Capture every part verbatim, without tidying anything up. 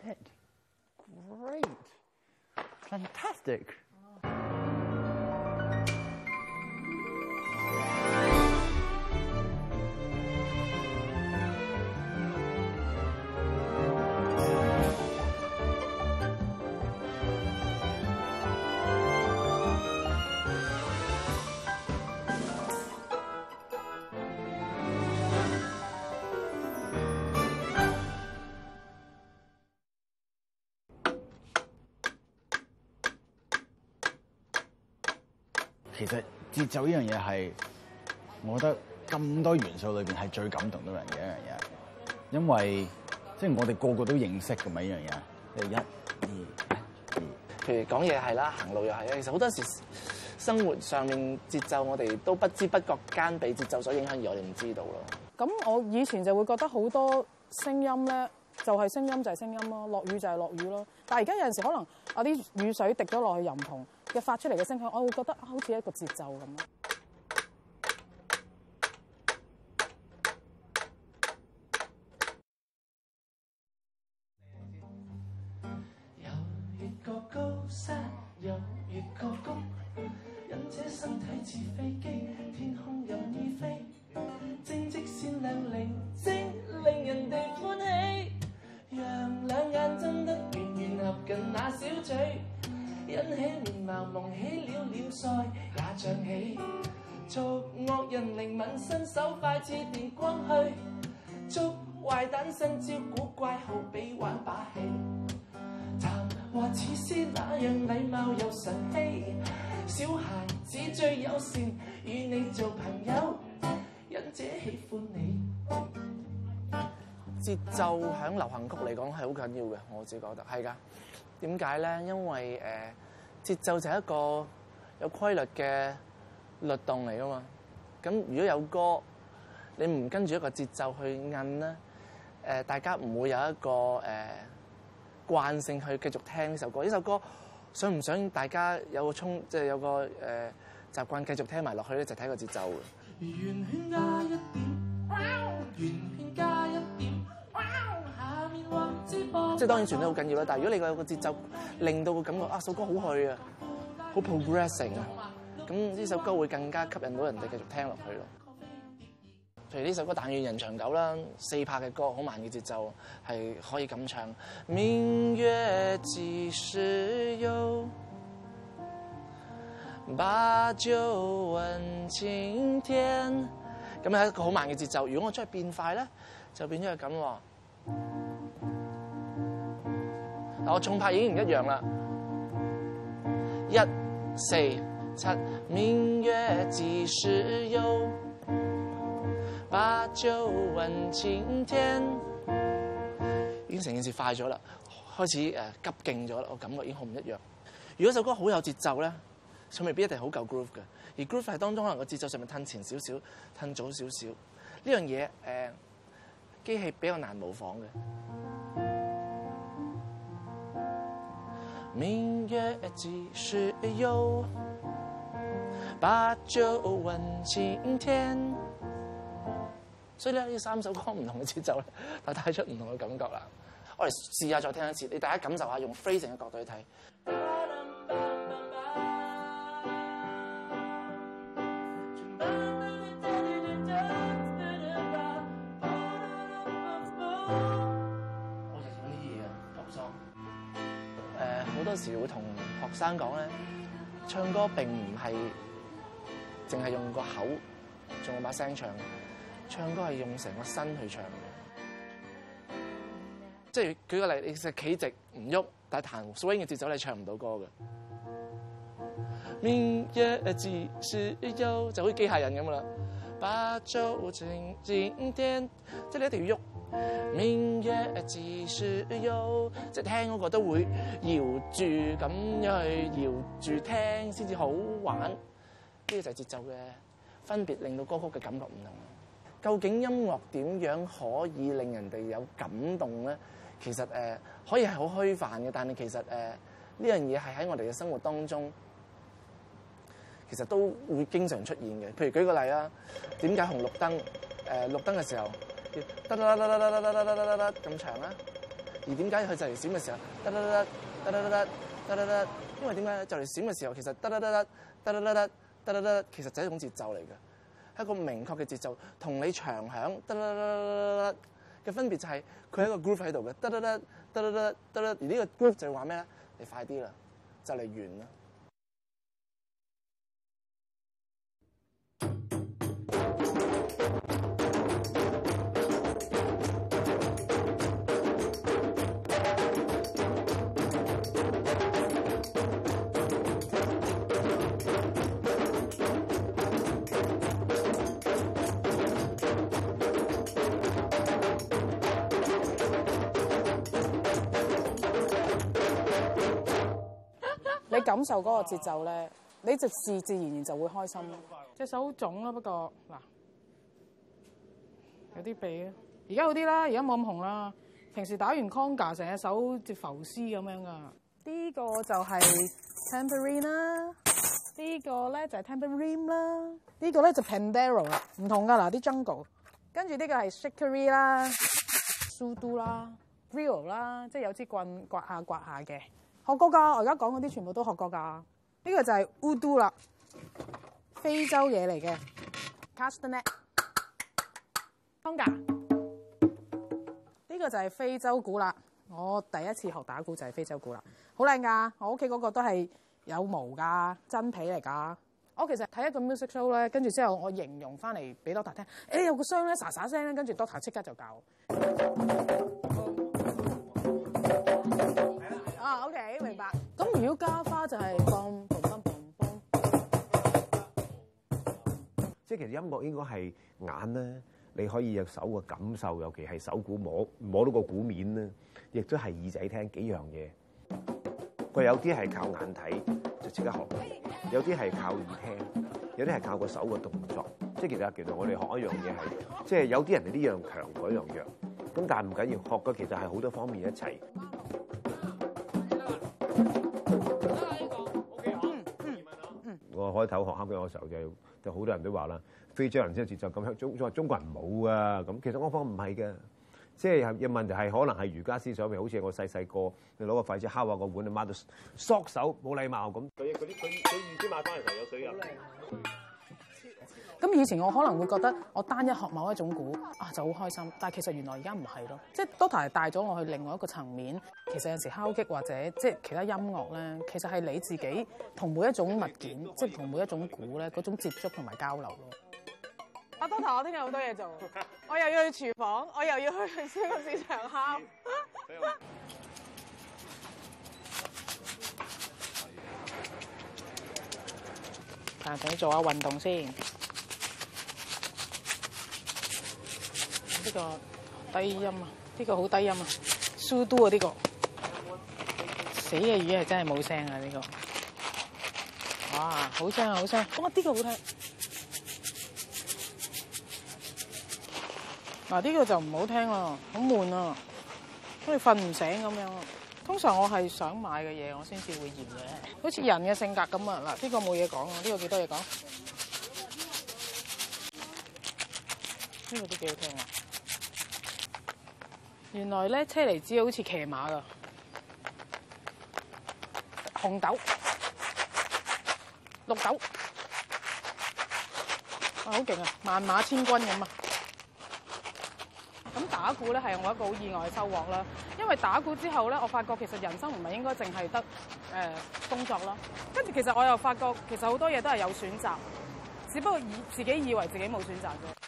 it. Great. Fantastic. 其實節奏呢樣嘢係，我覺得咁多元素裏邊係最感動到人嘅一樣嘢，因為即係我哋個個都認識㗎嘛呢樣嘢。即係一、二、一、二。 譬如講嘢係啦，行路又係啦。其實好多時生活上面節奏，我哋都不知不覺間被節奏所影響，而我哋唔知道咯。 咁我以前就會覺得好多聲音咧，就係聲音就係聲音咯，落雨就係落雨咯。但係而家有陣時可能啊啲雨水滴咗落去又唔同嘅發出嚟嘅聲響，我會覺得好似一個節奏咁咯。 有越過高山，有越過谷，忍者身體似飛機，天空任意飛，正直善良寧靜，令人哋歡喜。讓兩眼睜得圓圓合近那小嘴，引起面貌蒙起了臉腮也漲起。做惡人靈敏身手快似電光去，捉壞蛋身招古怪好比玩把戲。談話似詩那樣禮貌又神氣，小孩子最友善，與你做朋友，忍者喜歡你。 節奏響流行曲嚟講係好緊要嘅，我自己覺得係㗎。點解咧？因為誒、呃、節奏就係一個有規律嘅律動嚟㗎嘛。咁如果有歌，你唔跟住一個節奏去摁咧，誒、呃、大家唔會有一個誒、呃、慣性去繼續聽呢首歌。呢首歌想唔想大家有個衝，即係有個誒、呃、習慣繼續聽埋落去咧，就睇、是、個節奏嘅。 圓圈加一點，圓圈加一點。 即係當然旋律好緊要啦，但係如果你個有個節奏，令到個感覺啊首歌好去啊，好 progressing 啊，咁呢首歌會更加吸引到人哋繼續聽落去咯。譬如呢首歌《但願人長久》啦，四拍嘅歌，好慢嘅節奏，係可以咁唱。明月幾時有，把酒問青天。咁係一個好慢嘅節奏。如果我將佢變快咧，就變咗係咁喎。嗱，我重拍已經唔一樣啦。一、四、七，明月幾時有，把酒問青天。已經成件事快咗啦，開始誒急勁咗啦，我感覺已經好唔一樣。如果首歌好有節奏咧，佢未必一定好夠 groove 嘅，而 groove 係當中可能個節奏上面褪前少少、褪早少少，呢樣嘢誒機器比較難模仿嘅。明月幾時有，把酒問青天。所以咧，呢三首歌唔同嘅節奏咧，就帶出唔同嘅感覺啦。我哋試下再聽一次，你大家感受下用 phrasing 嘅角度去睇。好多時會同學生講咧，唱歌並唔係淨係用個口，仲有把聲唱嘅，唱歌係用成個身去唱嘅。即係舉個例，你實企直唔喐，但係彈 swing 嘅節奏你唱唔到歌嘅。明月幾時有，就好似機械人咁啦。把酒問青天，即係你一定要喐。明月幾時有，即係聽嗰個都會搖住咁樣去搖住聽先至好玩。呢個就係節奏嘅分別，令到歌曲嘅感覺唔同。究竟音樂點樣可以令人哋有感動咧？其實誒、呃、可以係好虛泛嘅，但係其實誒呢樣嘢係喺我哋嘅生活當中，其實都會經常出現嘅。譬如舉個例啦，點解紅綠燈誒綠燈嘅時候？得得得得得得得得得得咁長啦， 而點解佢就嚟閃嘅時候，得得得得得得得得得，因為點解就嚟閃嘅時候，其實得得得得得得得得得得，其實就係一種節奏嚟嘅，係一個明確嘅節奏，同你長響得得得得得嘅分別就係佢係一個 groove 喺度嘅，得得得得得得得得，而呢個 groove 就係話咩咧？你快啲啦，就嚟完啦。 你感受嗰個節奏咧，你就自自然然就會開心。隻手好腫咯，不過嗱有啲痹啊。而家好啲啦，而家冇咁紅啦。平時打完 conga 成隻手似浮絲咁樣噶。呢個就係 tambourine 啦，呢個咧就係 tambourine 啦，呢個咧就 pandero 啦，唔同噶嗱啲 jungle。跟住呢個係 shikari 啦、sudo 啦、grill 啦，即係有支棍刮下刮下嘅。學過㗎，我而家講嗰啲全部都學過㗎。呢個就係 udu 啦，非洲嘢嚟嘅 castanet。conga 呢個就係非洲鼓啦。我第一次學打鼓就係非洲鼓啦，好靚㗎。我屋企嗰個都係有毛㗎，真皮嚟㗎。我其實睇一個 music show 咧，跟住之後我形容翻嚟俾 Doctor 聽，誒有個聲咧，沙沙聲咧，跟住 Doctor 即刻就教。啊 ，OK， 明白。咁如果加花就係嘣嘣嘣嘣嘣。 即係其實音樂應該係眼咧，你可以有手嘅感受，尤其係手鼓摸摸到個鼓面咧，亦都係耳仔聽幾樣嘢。佢有啲係靠眼睇就即刻學，有啲係靠耳聽，有啲係靠個手嘅動作。即係其實其實我哋學一樣嘢係，即係有啲人係呢樣強，嗰樣弱。咁但係唔緊要，學嘅其實係好多方面一齊。我開頭學敲擊樂嘅時候就就好多人都話啦，非洲人先有節奏咁，中中中國人冇啊。咁其實我方唔係嘅，即係有問題係可能係儒家思想，譬如好似我細細個，你攞個筷子敲下個碗，你抹到縮手，冇禮貌咁。佢嗰啲佢佢預先買翻嚟就有水飲。 咁以前我可能會覺得我單一學某一種鼓啊就好開心，但係其實原來而家唔係咯，即係 Doctor 係帶咗我去另外一個層面。其實有時敲擊或者即係其他音樂咧，其實係你自己同每一種物件，即係同每一種鼓咧嗰種接觸同埋交流咯。阿 Doctor， 我聽日好多嘢做，我又要去廚房，我又要去超級市場敲。啊，等你做下運動先。呢個低音啊，呢個好低音啊，蘇都啊呢個，死嘅魚係真係冇聲啊呢個，哇好聲啊好聲，哇呢個好聽，嗱呢個就唔好聽啦，好悶啊，好似瞓唔醒咁樣。通常我係想買嘅嘢，我先至會嫌嘅，好似人嘅性格咁啊。嗱呢個冇嘢講啊，呢個幾多嘢講？呢個都幾好聽啊！原來咧車厘子好似騎馬噶，紅豆、綠豆，啊好勁啊！萬馬千軍咁啊！咁打鼓咧係我一個好意外嘅收穫啦，因為打鼓之後咧，我發覺其實人生唔係應該淨係得誒、呃、工作啦。跟住其實我又發覺其實好多嘢都係有選擇，只不過以自己以為自己冇選擇啫。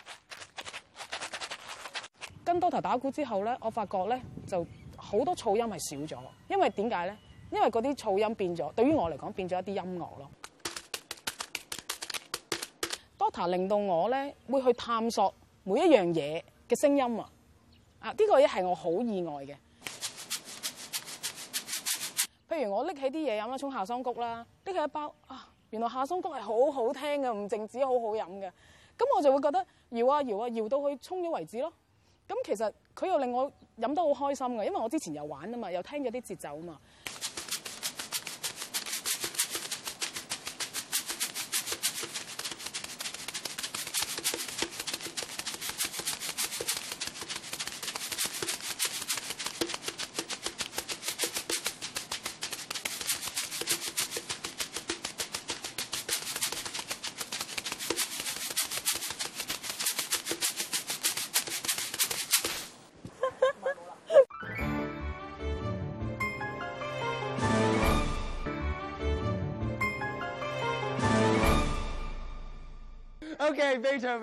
跟 Doctor 打鼓之後咧，我發覺咧就好多噪音係少咗，因為點解咧？因為嗰啲噪音變咗，對於我嚟講變咗一啲音樂咯。Doctor 令到我咧會去探索每一樣嘢嘅聲音啊！啊，呢個嘢係我好意外嘅。譬如我拎起啲嘢飲啦，沖夏桑菊啦，拎起一包啊，原來夏桑菊係好好聽嘅，唔淨止好好飲嘅。咁我就會覺得搖啊搖啊搖到佢沖咗為止咯。咁其實佢又令我飲得好開心嘅，因為我之前又玩啊嘛，又聽咗啲節奏啊嘛。 OK,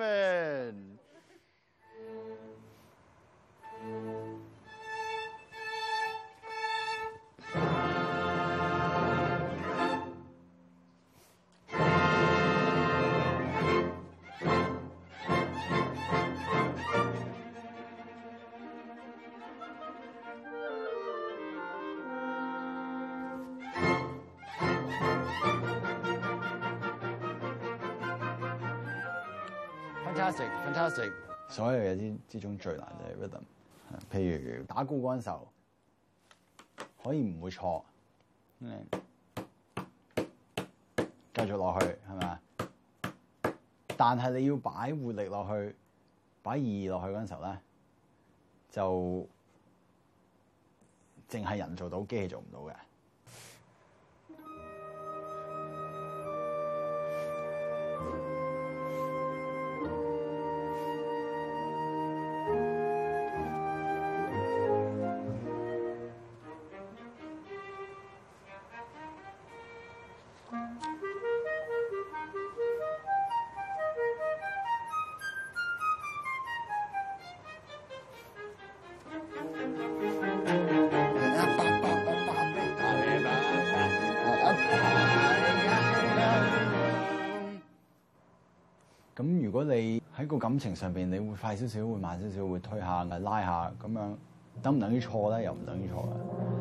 Beethoven。Fantastic, fantastic！ 所有嘢之之中最難就係 rhythm，譬如打鼓嗰陣時候，可以唔會錯，嗯，繼續落去係咪啊？但係你要擺活力落去，擺意義落去嗰陣時候咧，就淨係人做到，機器做唔到嘅。咁如果你喺個感情上邊，你會快少少，會慢少少，會推下、拉下咁樣，等唔等於錯咧？又唔等於錯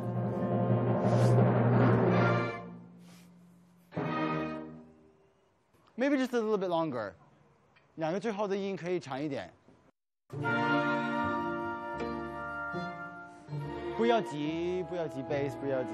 嘅。Maybe just a little bit longer， 兩個最後的音可以長一點。不要急，不要急 ，bass， 不要急。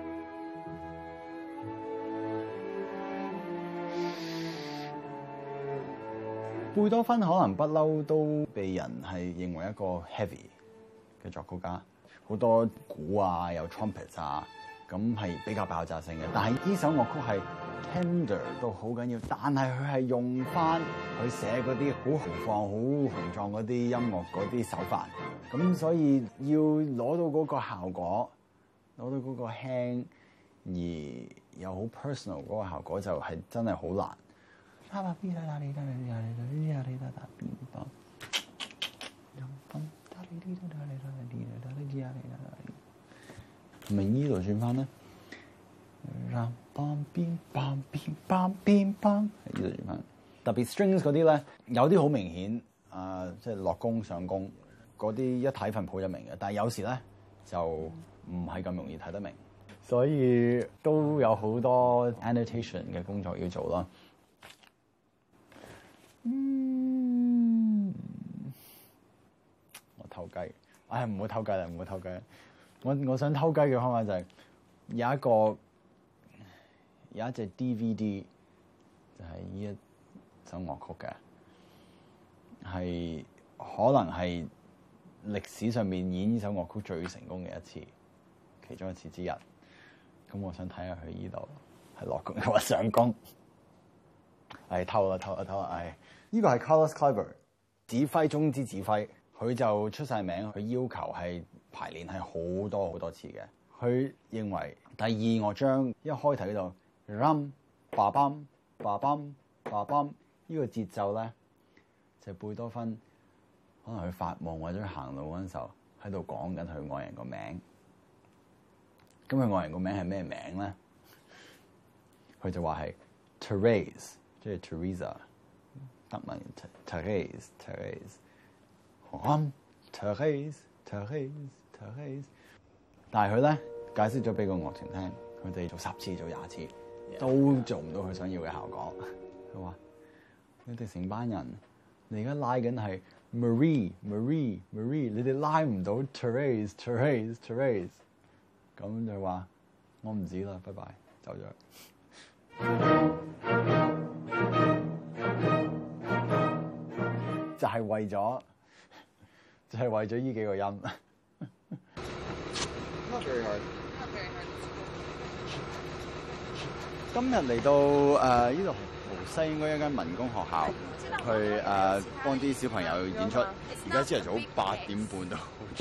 貝多芬可能不嬲都被人係認為一個 heavy 嘅作曲家，好多鼓啊，有 trumpet 啊，咁係比較爆炸性嘅。但係呢首樂曲係 tender 到好緊要，但係佢係用翻佢寫嗰啲好豪放、好雄壯嗰啲音樂嗰啲手法，咁所以要攞到嗰個效果，攞到嗰個輕而又好 personal 嗰個效果，就係真係好難。係咪呢度轉翻咧？呢度轉翻。特別 strings 嗰啲咧，有啲好明顯啊，即係落弓上弓嗰啲一睇份譜就明嘅，但係有時咧就唔係咁容易睇得明，所以都有好多 annotation 嘅工作要做啦。嗯，我偷雞，唉，唔好偷雞啦，唔好偷雞。我我想偷雞嘅方法就係有一個有一隻 D V D， 就係呢一首樂曲嘅，係可能係歷史上面演呢首樂曲最成功嘅一次，其中一次之一。咁我想睇下佢呢度係落弓定話上弓。唉，偷啦偷啦偷啦！唉，呢個係 Carlos Kleiber 指揮中之指揮，佢就出晒名，佢要求係排練係好多好多次嘅。佢認為第二樂章一開頭呢度 rum ba bum ba bum ba bum 呢個節奏咧，就係貝多芬可能佢發夢或者行路嗰陣時候喺度講緊佢愛人個名。咁佢愛人個名係咩名咧？佢就話係 Therese。即係 Teresa， 德文 Therese，Therese，Therese，Therese，Therese，但係佢咧解釋咗俾個樂團聽，佢哋做十次做廿次都做唔到佢想要嘅效果。佢話：你哋成班人，你而家拉緊係 Marie，Marie，Marie， 你哋拉唔到 Therese，Therese，Therese。咁就話我唔知啦，拜拜，走咗。就係為咗，就係、是、為咗呢幾個音。Not very hard. Not very hard. 今日嚟到誒呢度豪西應該一間民工學校，去誒、呃、幫啲小朋友演出。而家朝頭早八點半都好早。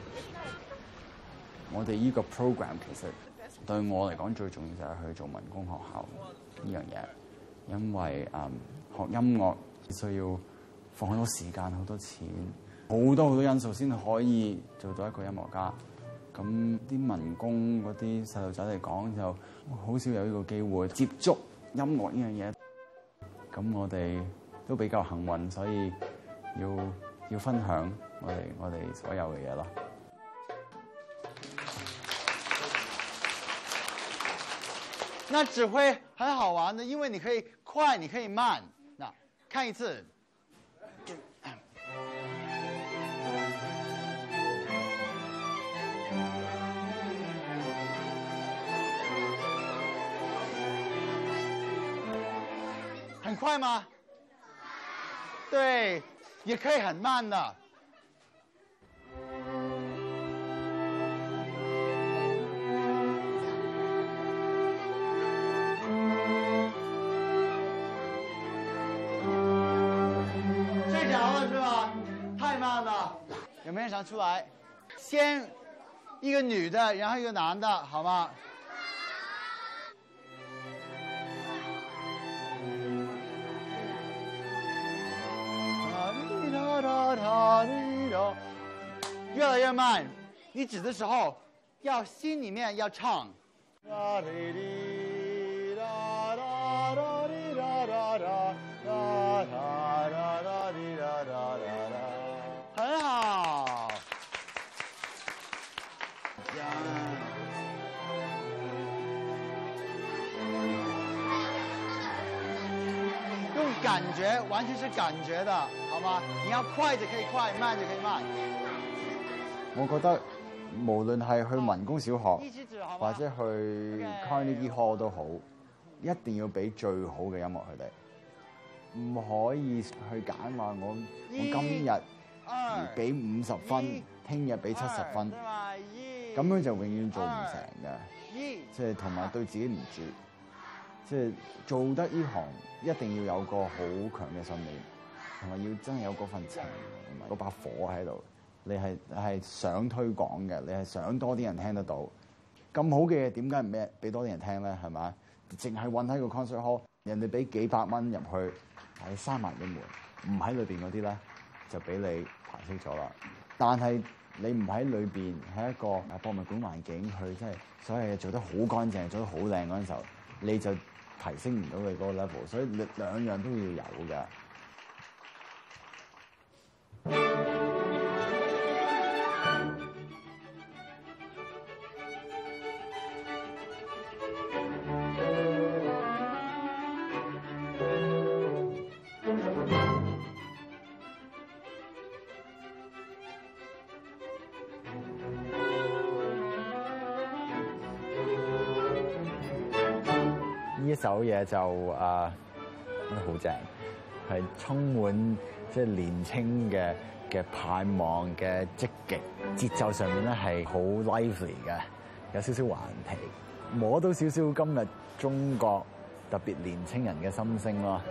我哋呢個 program 其實對我嚟講最重要就係去做民工學校呢樣嘢，因為誒、呃、學音樂。 需要放好多時間、好多錢、好多好多因素先可以做到一個音樂家。咁啲民工嗰啲細路仔嚟講，就好少有呢個機會接觸音樂呢樣嘢。咁我哋都比較幸運，所以要要分享我哋我哋所有嘅嘢咯。 那指揮很好玩的，因為你可以快，你可以慢。那看一次。很快嗎？對，也可以很慢的。睡着了是吧？太慢了。有沒有人想出來？先一個女的，然後一個男的，好嗎？越來越慢，你指的時候要心裡面要唱。很好。用感覺，完全是感覺的，好嗎？你要快就可以快，慢就可以慢。 我覺得無論係去民工小學或者去 Carnegie Hall 都好，一定要俾最好嘅音樂佢哋，唔可以去揀話我我今日俾五十分，聽日俾七十分，咁樣就永遠做唔成嘅，即係同埋對自己唔住，即係做得呢行一定要有個好強嘅信念，同埋要真係有嗰份情同埋嗰把火喺度。你係係想推廣嘅，你係想多啲人聽得到。咁好嘅嘢點解唔俾俾多啲人聽咧？係咪？淨係韞喺個 concert hall，人哋俾幾百蚊入去，係閂埋個門，唔喺裏邊嗰啲咧就俾你排斥咗啦。但係你唔喺裏邊，喺一個博物館環境去，即係所有嘢做得好乾淨，做得好靚嗰陣時候，你就提升唔到你嗰個 level。所以兩樣都要有嘅。呢首嘢就啊，覺得好正，係充滿即係年青嘅嘅盼望嘅積極，節奏上面咧係好 lively 嘅，有少少頑皮，摸到少少今日中國特別年青人嘅心聲咯。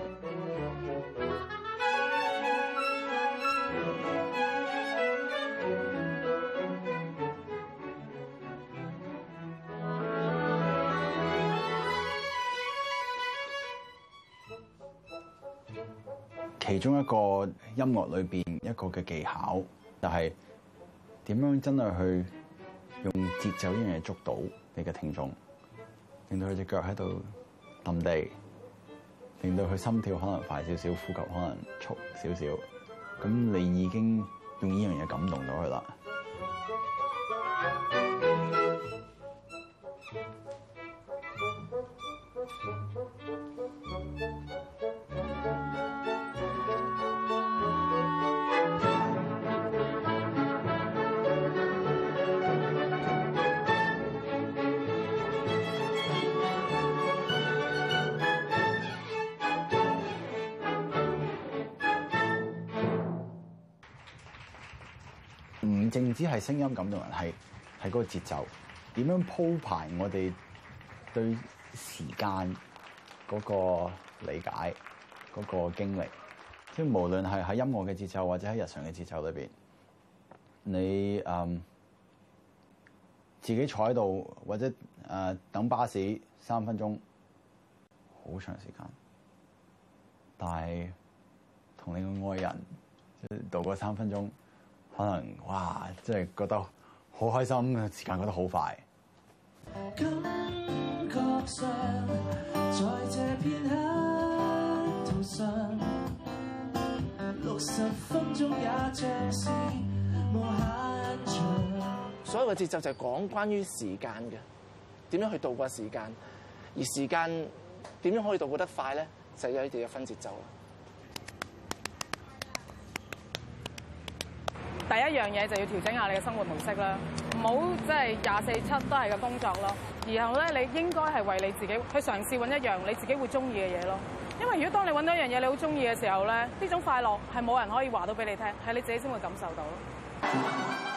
其中一個音樂裏邊一個嘅技巧，就係點樣真係去用節奏呢樣嘢捉到你嘅聽眾，令到佢隻腳喺度揼地，令到佢心跳可能快少少，呼吸可能速少少，咁你已經用呢樣嘢感動到佢啦。唔淨止係聲音感動人，係係嗰個節奏，點樣鋪排我哋對時間嗰個理解、嗰個經歷，即係無論係喺音樂嘅節奏或者喺日常嘅節奏裏邊，你嗯自己坐喺度或者誒、呃、等巴士三分鐘，好長時間，但係同你嘅愛人即係度過三分鐘，可能哇，即係覺得好開心，時間過得好快。 感覺上，在這片刻途上，六十分鐘也像是無限長。 所有嘅節奏就係講關於時間嘅，點樣去度過時間，而時間點樣可以度過得快咧，就係有你哋嘅分節奏啦。 第一樣嘢就要調整下你嘅生活模式啦，唔好即係廿四七都係個工作咯。然後咧，你應該係為你自己去嘗試揾一樣你自己會中意嘅嘢咯。因為如果當你揾到一樣嘢你好中意嘅時候咧，呢種快樂係冇人可以話到俾你聽，係你自己先會感受到咯。